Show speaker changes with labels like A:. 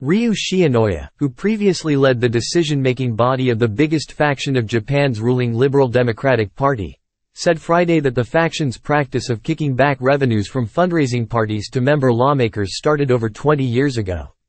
A: Ryu Shionoya, who previously led the decision-making body of the biggest faction of Japan's ruling Liberal Democratic Party, said Friday that the faction's practice of kicking back revenues from fundraising parties to member lawmakers started over 20 years ago.